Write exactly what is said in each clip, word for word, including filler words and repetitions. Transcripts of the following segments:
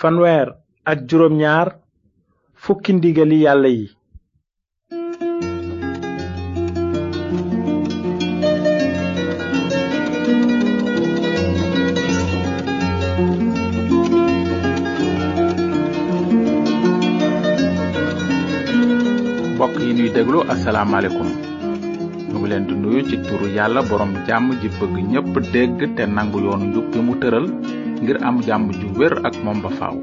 fanweer ak juróom ñaar fukki ndigali yàlla yi. mbokk yi ñuy déglu asalaamaaleykum ñu ngi leen di nuyu ci turu yàlla borom jàmm ji bëgg ñépp dégg te nangu yoonu njub bi mu tëral ngir am jàmm ju wér ak moom ba faaw.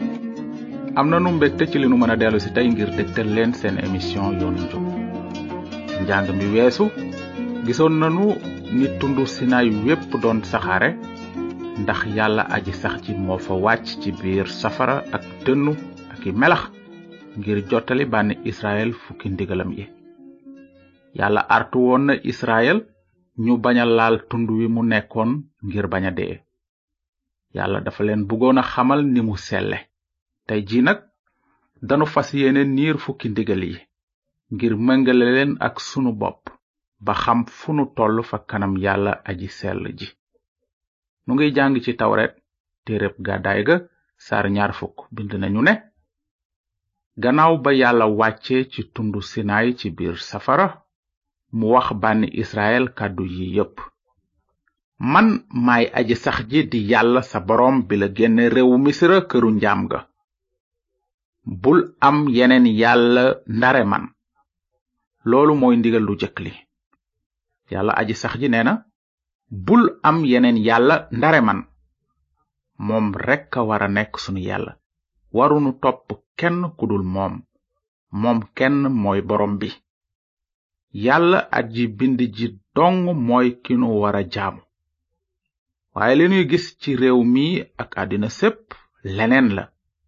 am na nu mbégte ci li nu mën a dellu si tey ngir dégtal leen seen émission yoonu njub. njàng mi weesu gisoon nanu ni tundu Sinaay wépp doon saxaare ndax yàlla aji sax ci moo fa wàcc ci biir safara ak dënnu ak i melax ngir jottali bànni Israël fukki ndigalam yi. yàlla artu woon na Israël ñu bañ a laal tund wi mu nekkoon ngir bañ a dee. yàlla dafa leen bëggoon a xamal ni mu selle. tey jii nag danu fas yéene niir fukki ndigal yi ngir mëngale leen ak sunu bopp ba xam fu nu toll fa kanam yàlla aji sell ji. nu ngiy jàng ci tawret téereb gàddaay ga saar ñaar fukk bind nañu ne gannaaw ba yàlla wàcce ci tundu Sinaay ci biir safara mu wax bànni Israël kàddu yi yépp. man maay aji sax ji di yàlla sa boroom bi la génne réewu Misra këru njaam ga. bul am yeneen yàlla ndare man. loolu mooy ndigal lu jëkk li. yàlla aji sax ji nee na bul am yeneen yàlla ndare man. moom rekk a war a nekk sunu yàlla. warunu topp kenn kudul moom. moom kenn mooy borom bi. yàlla aji bind ji dong mooy ki nu war a jaamu. waaye li nuy gis ci réew mi ak àddina sépp leneen la.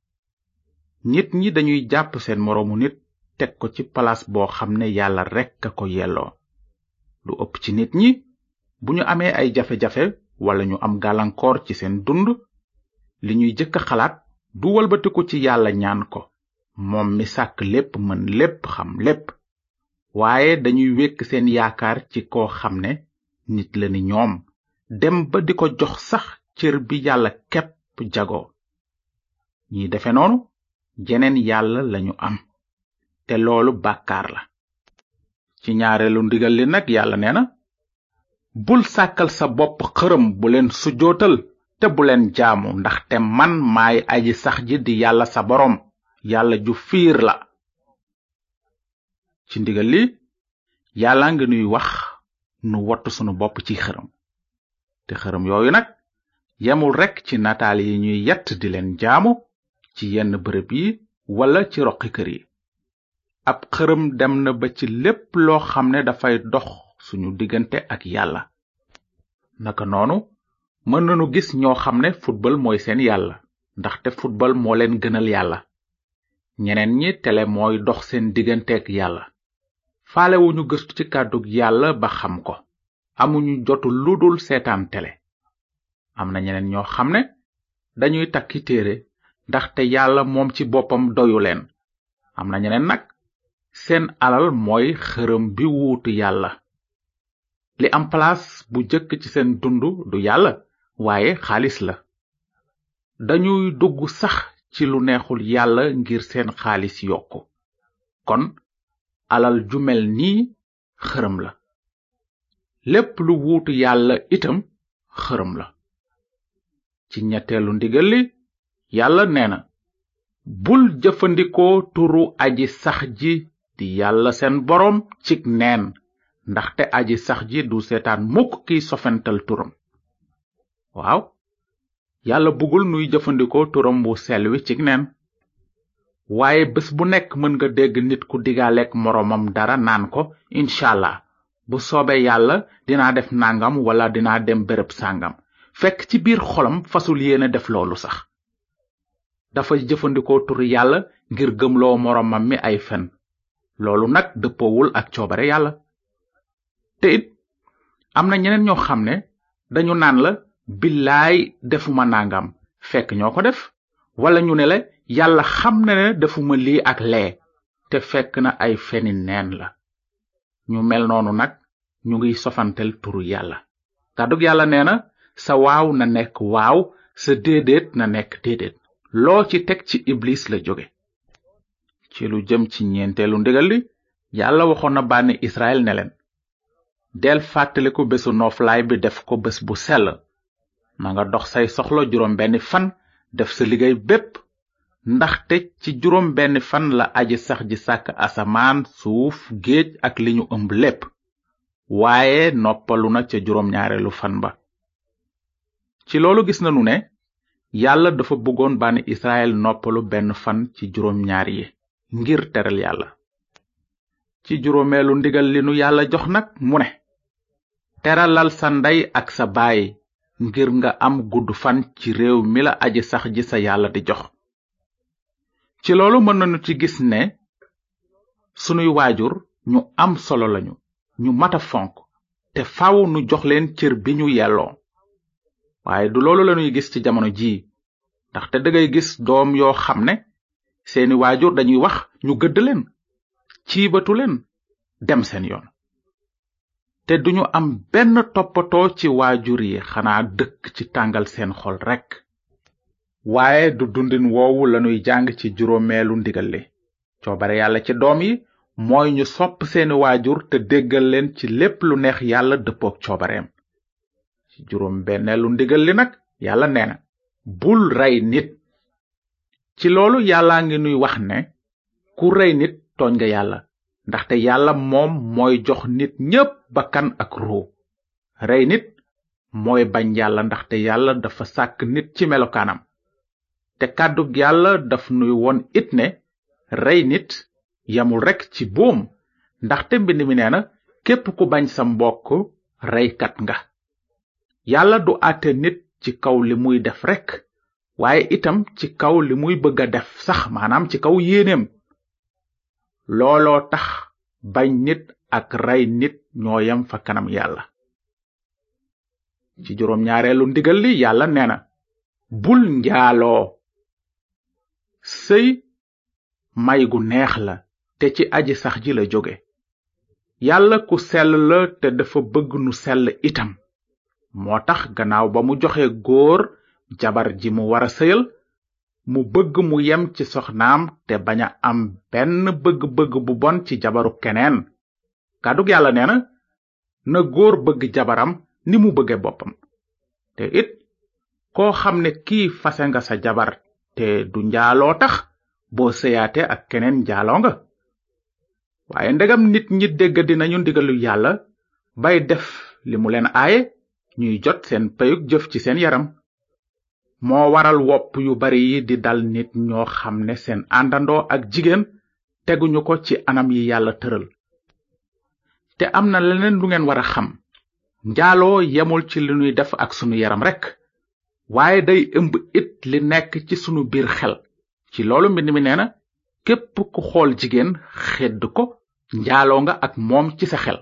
nit ñi dañuy jàpp seen moroomu nit teg ko ci palaas boo xam ne yàlla rekk a ko yelloo. lu ëpp ci nit ñi bu ñu amee ay jafe-jafe wala ñu am gàllankoor ci seen dund li ñuy jëkk a xalaat du walbatiku ci yàlla ñaan ko moom mi sàkk lépp mën lépp xam lépp. waaye dañuy wekk seen yaakaar ci koo xam ne nit la ni ñoom dem ba di ko jox sax cër bi yàlla képp jagoo. ñi defe noonu jeneen yàlla lañu am te loolu bàkkaar la. ci ñaareelu ndigal li nag yàlla nee na bul sàkkal sa bopp xërëm bu leen sujootal te bu leen jaamu ndaxte man maay aji sax ji di yàlla sa boroom yàlla ju fiir la. ci ndigal li yàlla nga nuy wax nu wattu sunu bopp ci xërëm. te xërëm yooyu nag yemul rekk ci nataal yi ñuy yett di leen jaamu ci yenn bërëb yi wala ci roqi kër yi. ab xërëm dem na ba ci lépp loo xam ne dafay dox suñu diggante ak yàlla. naka noonu mën nañu gis ñoo xam ne football mooy seen yàlla ndaxte football moo leen gënal yàlla. ñeneen ñi tele mooy dox seen diggante ak yàlla. faalewuñu gëstu ci kàddug yàlla ba xam ko. amuñu jotu ludul seetaan tele. am na ñeneen ñoo xam ne dañuy takki téere ndaxte yàlla moom ci boppam doyu leen. am na ñeneen nag seen alal mooy xërëm bi wuutu yàlla. li am place bu jëkk ci seen dund du yàlla waaye xaalis la. dañuy dugg sax ci lu neexul yàlla ngir seen xaalis yokku. kon alal ju mel nii xërëm la. lépp lu wuutu yàlla itam xërëm la. ci ñetteelu ndigal li yàlla nee na bul jëfandikoo turu aji sax ji di yàlla seen boroom cig neen ndaxte aji sax ji du seetaan mukk kiy sofental turam. waaw yàlla bëggul nuy jëfandikoo turam bu sell wi cig neen. waaye bés bu nekk mën nga dégg nit ku digaaleek moroomam dara naan ko inshallah bu soobee yàlla dinaa def nangam wala dinaa dem béréb sàngam fekk ci biir xolam fasul yéene def loolu sax. dafa jëfandikoo turu yàlla ngir gëmloo moroomam mi ay fen. loolu nag dëppoowul ak coobare yàlla. te it am na ñeneen ñoo xam ne dañu naan la billaay defuma nangam fekk ñoo ko def. wala ñu ne la yàlla xam na ne defuma lii ak lee te fekk na ay feni neen la. ñu mel noonu nag ñu ngiy sofantel turu yàlla. kàddug yàlla nee na sa waaw na nekk waaw sa déedéet na nekk déedéet. loo ci teg ci iblis la jóge. ci lu jëm ci ñeenteelu ndigal li yàlla waxoon na bànni Israël ne leen del fàttaliku bésu nooflaay bi def ko bés bu sell na nga dox say soxla juróom benni fan def sa liggéey bépp ndaxte ci juróom benni fan la aji sax ji sàkk asamaan suuf géej ak li ñu ëmb lépp waaye noppalu na ca juróom ñaareelu fan ba. ci loolu gis nanu ne yàlla dafa bëggoon bànni Israël noppalu benn fan ci juróom ñaar yi ngir teral yàlla. ci juróomeelu ndigal li nu yàlla jox nag mu ne teralal sa ndey ak sa baay ngir nga am gudd fan ci réew mi la aji sax ji sa yàlla di jox. ci loolu mën nañu ci gis ne sunuy waajur ñu am solo lañu ñu mata fonk te faaw nu jox leen cër bi ñu yelloo. waaye du loolu lañuy gis ci jamono jii ndaxte dangay gis doom yoo xam ne seeni waajur dañuy wax ñu gëdd leen ciibatu leen dem seen yoon te duñu am benn toppatoo ci waajur yi xanaa dëkk ci tàngal seen xol rekk. waaye du dundin woowu lanuy jàng ci juróomeelu ndigal li coobare yàlla ci doom yi mooy ñu sopp seeni waajur te déggal leen ci lépp lu neex yàlla dëppook coobareem. ci juróom benneelu ndigal li nag yàlla nee na bul rey nit. ci loolu yàllaa ngi nuy wax ne ku rey nit tooñ nga yàlla ndaxte yàlla moom mooy jox nit ñépp bakkan ak ruu. rey nit mooy bañ yàlla ndaxte yàlla dafa sàkk nit ci melokaanam te kàddug yàlla daf nuy won it ne rey nit yamul rekk ci boom ndaxte mbind mi nee na képp ku bañ sa mbokk reykat nga. yàlla du àtte nit ci kaw li muy def rekk waaye itam ci kaw li muy bëgg a def sax maanaam ci kaw yéeneem. looloo tax bañ nit ak rey nit ñoo yem fa kanam yàlla. ci juróom ñaareelu ndigal li yàlla nee na bul njaaloo. sëy may gu neex la te ci aji sax ji la jóge. yàlla ku sell la te dafa bëgg nu sell itam moo tax gannaaw ba mu joxe góor jabar ji mu wara sëyal mu bëgg mu yem ci soxnaam te bañ a am benn bëgg-bëgg bu bon ci jabaru keneen. kàddug yàlla nee na na góor bëgg jabaram ni mu bëgge boppam te it koo xam ne kii fase nga sa jabar te du njaaloo tax boo sëyaate ak keneen njaaloo nga. waaye ndegam nit ñi dégg dinañu ndigalu yàlla bay def li mu leen aaye ñuy jot seen payug jëf ci seen yaram. moo waral wopp yu bari yi di dal nit ñoo xam ne seen àndandoo ak jigéen teguñu ko ci anam yi yàlla tëral. te am na leneen lu ngeen war a xam njaaloo yemul ci li nuy def ak sunu yaram rekk waaye day ëmb it li nekk ci sunu biir xel. ci loolu mbind mi nee na képp ku xool jigéen xedd ko njaaloo nga ak moom ci sa xel.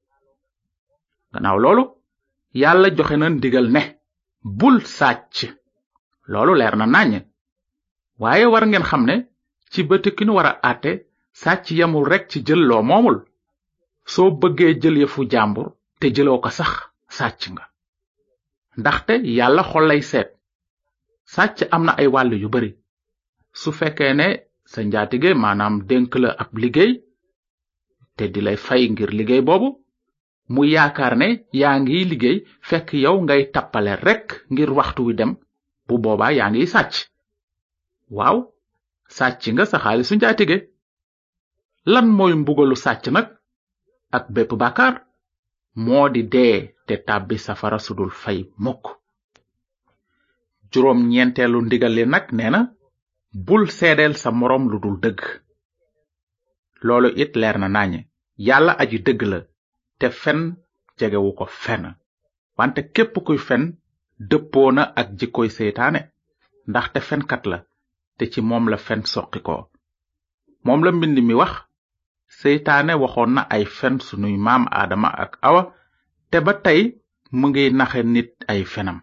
gannaaw loolu yàlla joxe na ndigal ne bul sàcc. loolu leer na naññ waaye war ngeen xam ne ci bëti ki nu war a àtte sàcc yamul rekk ci jël loo moomul. soo bëggee jël yëfu jàmbur te jëloo ko sax sàcc nga ndaxte yàlla xol lay seet. sàcc am na ay wàll yu bari. su fekkee ne sa njaatige maanaam dénk la ab liggéey te di lay fay ngir liggéey boobu mu yaakaar ne yaa ngi liggéey fekk yow ngay tappale rekk ngir waxtu wi dem bu boobaa yaa ngi sàcc. waaw sàcc nga sa xaalisu njaatige. lan mooy mbugalu sàcc nag ak bépp bàkkaar moo di dee te tàbbi safara sudul fay mukk. juróom ñeenteelu ndigal li nag nee na bul seedeel sa moroom lu dul dëgg. loolu it leer na nañe yàlla aji dëgg la te fen jegewu ko fenn wante képp kuy fen dëppoo na ak jikkoy seytaane ndaxte fenkat la te ci moom la fen soqi ko. moom la mbind mi wax seytaane waxoon na ay fen sunuy maam aadama ak awa te ba tey mu ngi naxe nit ay fenam.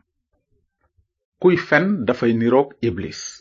kuy fen dafay niroog iblis.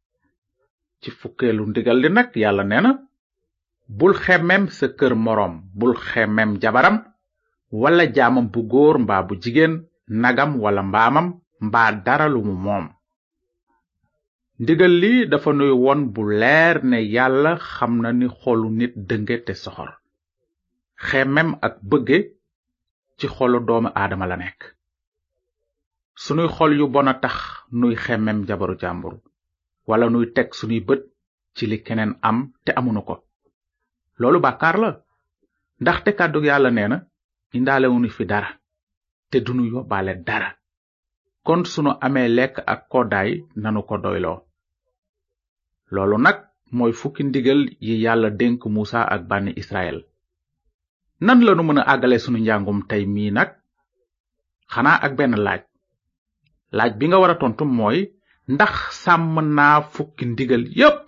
ci fukkeelu ndigal li nag yàlla nee na bul xemmem sa kër moroom bul xemmem jabaram wala jaamam bu góor mbaa bu jigéen nagam wala mbaamam mbaa dara lu mu moom. ndigal li dafa nuy won bu leer ne yàlla xam na ni xolu nit dënge te soxor xemem ak bëgge ci xolu doomu aadama la nekk sunuy xol yu bona tax nuy xemem jabaru jàmbur wala nuy teg sunuy bët ci li keneen am te amunu ko loolu bàkkaar la ndaxte kàddug yàlla nee na indaalewunu fi dara te dunu yóbbaale dara kon sunu amee lekk ak koddaay nanu ko doyloo loolu nag mooy fukki ndigal yi yàlla dénk Musa ak bànni Israël nan lanu mën a àggale sunu njàngum tey mii nag xanaa ak benn laaj laaj bi nga war a tontu mooy ndax sàmm naa fukki ndigal yépp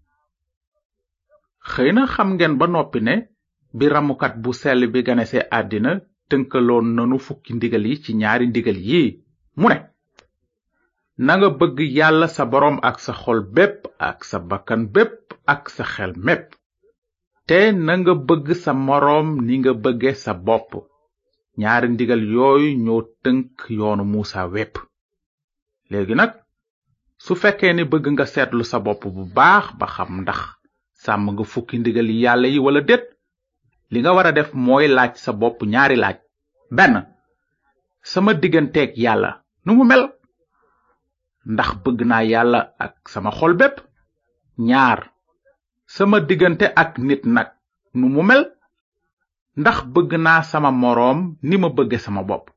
xëy na xam ngeen ba noppi ne bi ramukat bu sell bi ganese àddina tënkaloon nanu fukki ndigal yi ci ñaari ndigal yi mu ne nanga bëgg yàlla sa boroom ak sa xol bépp ak sa bakkan bépp ak sa xel mépp te nanga bëgg sa moroom ni nga bëgge sa bopp ñaari ndigal yooyu ñoo tënk yoonu Musa wépp léegi nag su fekkee ni bëgg nga seetlu sa bopp bu baax ba xam ndax sàmm nga fukki ndigal yi yàlla yi wala déet li nga war a def mooy laaj sa bopp ñaari laaj benn sama digganteeg yàlla nu mu mel ndax bëgg naa yàlla ak sama xol bépp ñaar sama diggante ak nit nag nu mu mel ndax bëgg naa sama moroom ni ma bëgge sama bopp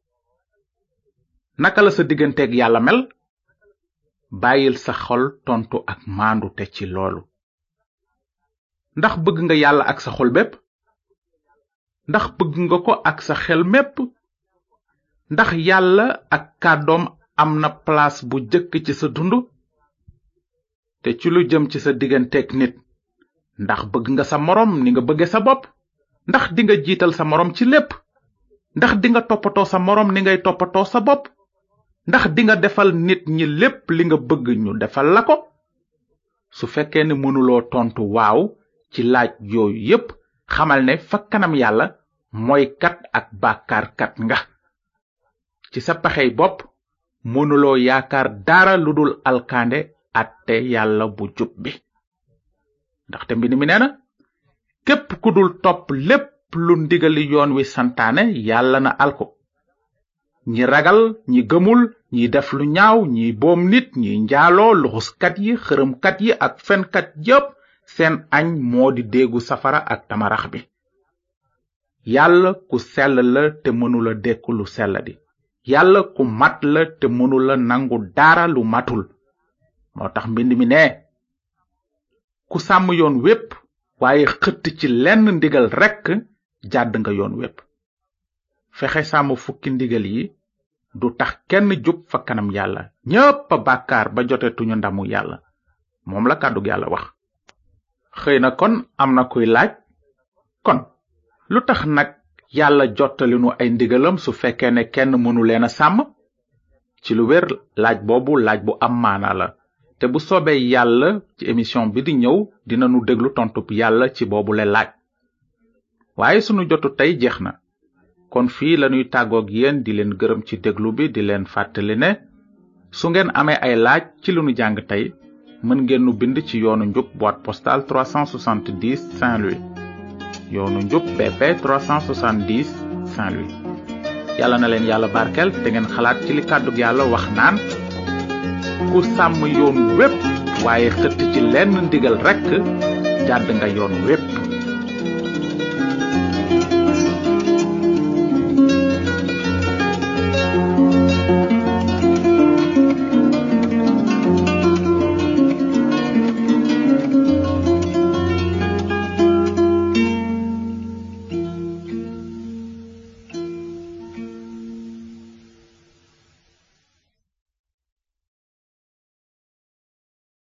naka la sa digganteeg yàlla mel bàyyil sa xol tontu ak maandu te ci loolu ndax bëgg nga yàlla ak sa xol bépp ndax bëgg nga ko ak sa xel mépp ndax yàlla ak kàddoom am na place bu jëkk ci sa dund te ci lu jëm ci sa digganteeg nit ndax bëgg nga sa moroom ni nga bëgge sa bopp ndax dinga jiital sa moroom ci lépp ndax dinga toppatoo sa moroom ni ngay toppatoo sa bopp ndax dinga defal nit ñi lépp li nga bëgg ñu defal la ko su fekkee ne mënuloo tontu waaw ci laaj yooyu yépp xamal ne fa kanam yàlla mooy kat ak bàkkaarkat nga ci sa pexey bopp mënuloo yaakaar dara lu dul alkande atte yàlla bu jub bi ndaxte mbind mi nee na képp ku dul topp lépp lu ndigali yoon wi santaane yàlla na alko ñi ragal ñi gëmul ñi def lu ñaaw ñi boom nit ñi njaaloo luxuskat yi xërëmkat yi ak fenkat yépp seen añ moo di déegu safara ak tamarax bi yàlla ku sell la te mënula dekku lu sell di yàlla ku mat la te mënula nangu dara lu matul moo tax mbind mi ne ku sàmm yoon wépp waaye xëtt ci lenn ndigal rekk jàdd nga yoon wépp fexe sàmm fukki ndigal yi du tax kenn jub fa kanam yàlla ñépp a bàkkaar ba jotetuñu ndamu yàlla moom la kàddug yàlla wax xëy na kon am na kuy laaj kon lu tax nag yàlla jottalinu ay ndigalam su fekkee ne kenn mënu leen a sàmm ci lu wér laaj boobu laaj bu am maana la te bu soobee yàlla ci émission bi di ñëw dinanu déglu tontub yàlla ci boobu le laaj waaye sunu jotu tey jeex na kon fii lañuy tàggoog yéen di leen gërëm ci déglu bi di leen fàttali ne su ngeen amee ay laaj ci lu nu jàng tey mën ngeen nu bind ci yoonu njub boîte postale trois cent soixante-dix Saint-Louis yoonu njub B P trois cent soixante-dix Saint-Louis yàlla na leen yàlla barkel te ngeen xalaat ci li kàddug yàlla wax naan ku sàmm yoon wépp waaye xëtt ci lenn ndigal rekk jàdd nga yoon wépp